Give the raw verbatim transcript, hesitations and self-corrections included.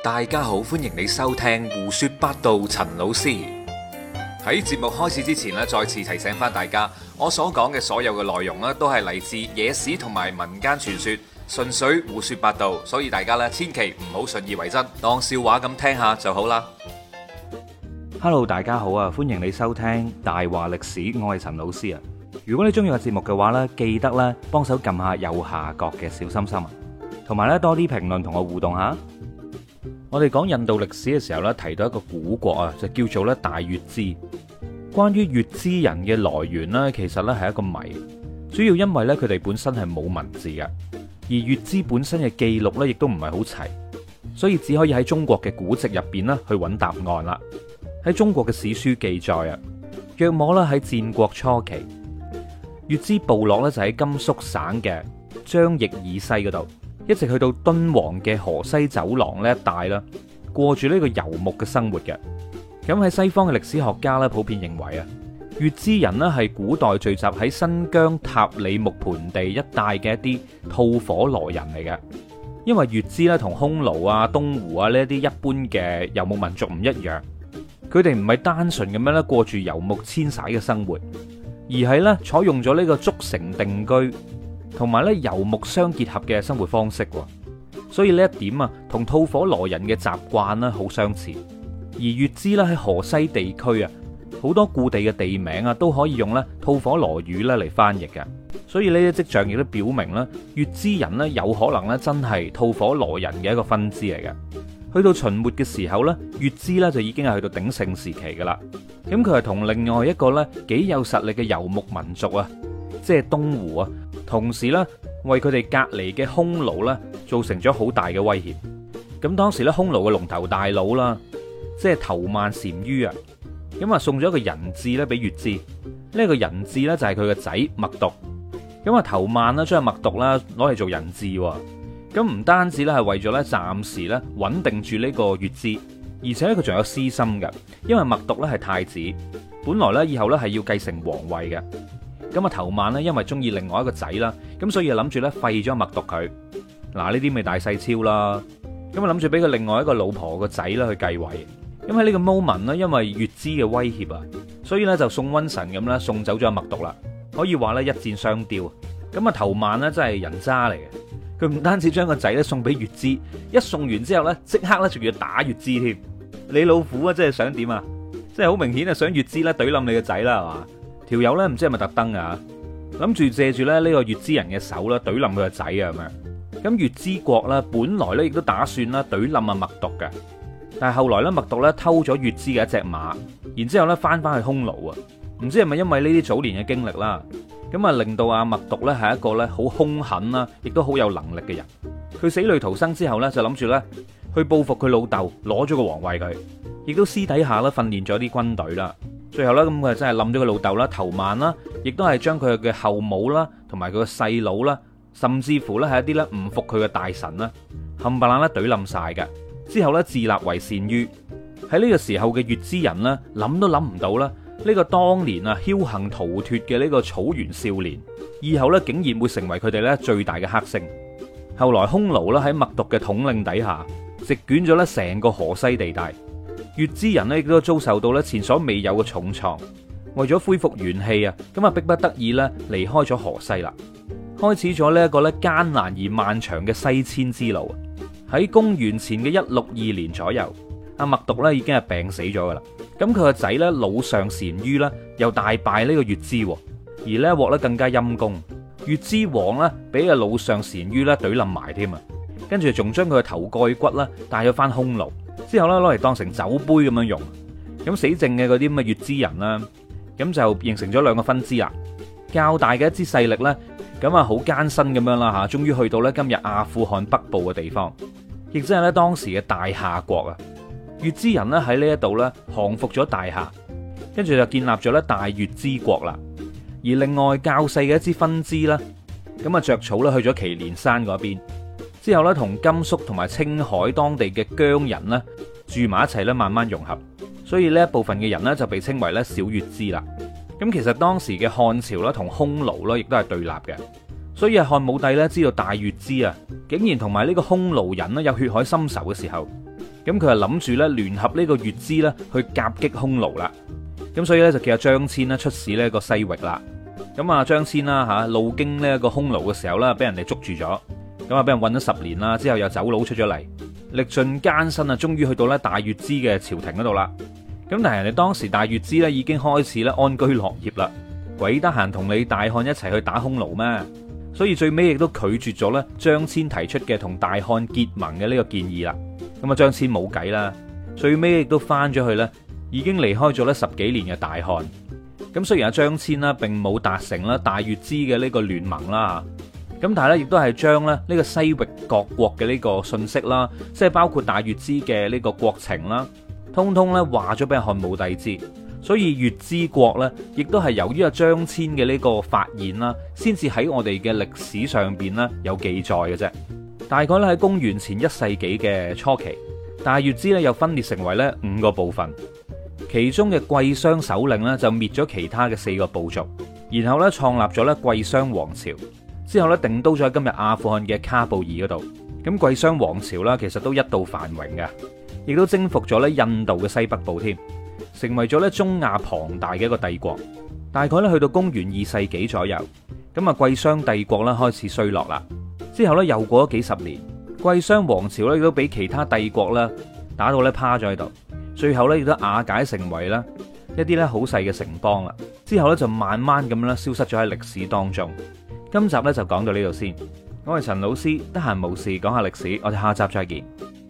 大家好，歡迎你收聽胡說八道。陳老師喺節目開始之前咧，再次提醒翻大家，我所講嘅所有嘅內容咧，都係嚟自野史同埋民間傳說，純粹胡說八道，所以大家咧千祈唔好信以為真，當笑話咁聽下就好啦。 Hello， 大家好啊，歡迎你收聽大話歷史，我係陳老師啊。如果你中意個節目嘅話呢，記得咧幫手撳下右下角嘅小心心啊，同埋咧多啲評論同我互動下。我哋講印度歷史嘅時候咧，提到一個古國啊，就叫做咧大月氏。關於月氏人嘅來源呢，其實咧係一個謎，主要因為咧佢哋本身係冇文字嘅，而月氏本身嘅記錄咧亦都唔係好齊，所以只可以喺中國嘅古籍入邊咧去揾答案啦。喺中國嘅史書記載啊，約莫咧喺戰國初期，月氏部落咧就喺甘肅省嘅張掖以西嗰度，一直去到敦煌嘅河西走廊呢一帶啦，過住呢個游牧嘅生活嘅。咁喺西方嘅歷史學家咧，普遍認為啊，月氏人咧係古代聚集喺新疆塔里木盆地一帶嘅一啲吐火羅人嚟嘅。因為月氏咧同匈奴啊、東胡啊呢一啲一般嘅游牧民族唔一樣，佢哋唔係單純咁樣咧過住游牧遷徙嘅生活，而係咧採用咗呢個築城定居同埋咧游牧相結合嘅生活方式。所以呢一點啊，同吐火羅人嘅習慣咧好相似。而月氏咧喺河西地區啊，好多故地嘅地名啊都可以用咧吐火羅語咧嚟翻譯嘅。所以呢啲跡象亦都表明咧，月氏人咧有可能咧真係吐火羅人嘅一個分支嚟嘅。去到秦末嘅時候咧，月氏咧就已經係去到鼎盛時期噶啦。咁佢係同另外一個咧幾有實力嘅游牧民族啊，即係東胡啊，同時咧為佢哋隔離嘅匈奴咧造成咗好大嘅威脅。咁當時咧匈奴嘅龍頭大佬啦，即係頭曼單于啊，咁啊送咗一個人質咧俾月氏。呢個人質咧就係佢個仔默讀。咁啊頭曼呢將默讀啦攞嚟做人質。咁唔單止咧係為咗咧暫時咧穩定住呢個月氏，而且咧佢仲有私心嘅，因為默讀咧係太子，本來咧以後咧係要繼承皇位嘅。咁啊頭曼呢因為中意另外一個仔啦，咁所以諗住咧廢咗默讀佢。嗱呢啲咪大細超啦，咁啊諗住俾佢另外一個老婆個仔啦去繼位。咁喺呢個 moment 呢，因為月氏嘅威脅啊，所以咧就送瘟神咁啦，送走咗默讀啦。可以話咧一箭雙雕。咁啊頭曼呢真係人渣嚟嘅。佢唔單止將個仔咧送俾月氏，一送完之後咧，即刻咧仲要打月氏添。你老虎啊，即係想點啊？即係好明顯啊，想月氏咧懟冧你個仔啦，係嘛？條友咧唔知係咪特登啊？諗住借住咧呢個月氏人嘅手啦，懟冧佢個仔啊咁樣。咁月氏國咧本來咧亦都打算啦懟冧阿默讀嘅，但係後來咧默讀咧偷咗月氏嘅一隻馬，然之後咧翻翻去匈奴啊。唔知係咪因為呢啲早年嘅經歷啦？咁啊，令到阿默讀咧係一個咧好兇狠啦，亦都好有能力嘅人。佢死裏逃生之後咧，就諗住咧去報復佢老豆，攞咗個皇位佢，亦都私底下咧訓練咗啲軍隊啦。最後咧咁佢真係冧咗佢老豆啦，頭曼啦，亦都係將佢嘅後母啦，同埋佢個細佬啦，甚至乎咧係一啲咧唔服佢嘅大臣啦，冚唪唥咧懟冧晒嘅。之後咧自立為單于。喺呢個時候嘅月氏人咧諗都諗唔到啦。呢個當年啊僥倖逃脫嘅呢個草原少年，以後咧竟然會成為佢哋咧最大嘅黑星。後來匈奴咧喺默讀嘅統領底下，席捲咗咧成個河西地帶。月氏人咧亦都遭受到咧前所未有嘅重創。為咗恢復元氣啊，咁啊迫不得已咧離開咗河西啦，開始咗呢一個咧艱難而漫長嘅西遷之路。喺公元前嘅一六二年左右，阿默讀咧已經係病死咗噶啦。咁佢個仔咧老上單于咧又大敗呢個月氏，而呢一鑊咧更加陰功，月氏王咧俾阿老上單于咧懟冧埋添啊，跟住仲將佢嘅頭蓋骨咧帶咗翻匈奴，之後咧攞嚟當成酒杯咁樣用。咁死剩嘅嗰啲咁嘅月氏人啦，咁就形成咗兩個分支啦。較大嘅一支勢力咧，咁啊好艱辛咁樣啦吓，終於去到咧今日阿富汗北部嘅地方，亦即係咧當時嘅大夏國啊。月氏人咧喺呢一度咧降服咗大夏，跟住就建立咗咧大月氏國啦。而另外較細嘅一支分支啦，咁啊着草咧去咗祁連山嗰邊，之後咧同甘肅同埋青海當地嘅羌人咧住埋一齊咧，慢慢融合。所以呢一部分嘅人咧就被稱為咧小月氏啦。咁其實當時嘅漢朝啦同匈奴啦亦都係對立嘅，所以啊漢武帝咧知道大月氏啊竟然同埋呢個匈奴人咧有血海深仇嘅時候， 咁佢就諗住咧聯合呢個月支咧去夾擊匈奴啦。咁所以咧就叫阿張騫咧出使呢個西域啦。咁啊張騫啦嚇路經呢一個匈奴嘅時候咧，俾人哋捉住咗，咁啊俾人韞咗十年啦，之後又走佬出咗嚟，歷盡艱辛啊，終於去到咧大月支嘅朝廷嗰度啦。咁但係人哋當時大月支咧已經開始咧安居樂業啦，鬼得閒同你大漢一齊去打匈奴咩？所以最尾亦都拒絕咗咧張騫提出嘅同大漢結盟嘅呢個建議啦。咁啊張騫冇計啦，最尾亦都翻咗去咧，已經離開咗咧十幾年嘅大漢。咁雖然阿張騫啦並冇達成啦大月支嘅呢個聯盟啦，咁但係咧亦都係將咧呢個西域各國嘅呢個信息啦，即係包括大月支嘅呢個國情啦，通通咧話咗俾漢武帝知。所以月支國咧，亦都係由於阿張騫嘅呢個發現啦，先至喺我哋嘅歷史上邊咧有記載嘅啫。大概咧喺公元前一世紀嘅初期，大月支咧又分裂成為咧五個部分。其中嘅貴霜首領咧就滅咗其他嘅四個部族，然後咧創立咗咧貴霜王朝，之後咧定都咗喺今日阿富汗嘅喀布爾嗰度。咁貴霜王朝啦，其實都一度繁榮嘅，亦都征服咗咧印度嘅西北部添，成為咗咧中亞龐大嘅一個帝國。大概咧去到公元二世紀左右，咁啊貴霜帝國咧開始衰落啦。之後咧又過咗幾十年，貴霜王朝咧亦都俾其他帝國咧打到咧趴咗喺度。最後咧亦都瓦解成為咧一啲咧好細嘅城邦啦，之後咧就慢慢咁樣咧消失咗喺歷史當中。今集咧就講到呢度先，我係陳老師，得閒無事講下歷史，我哋下集再見。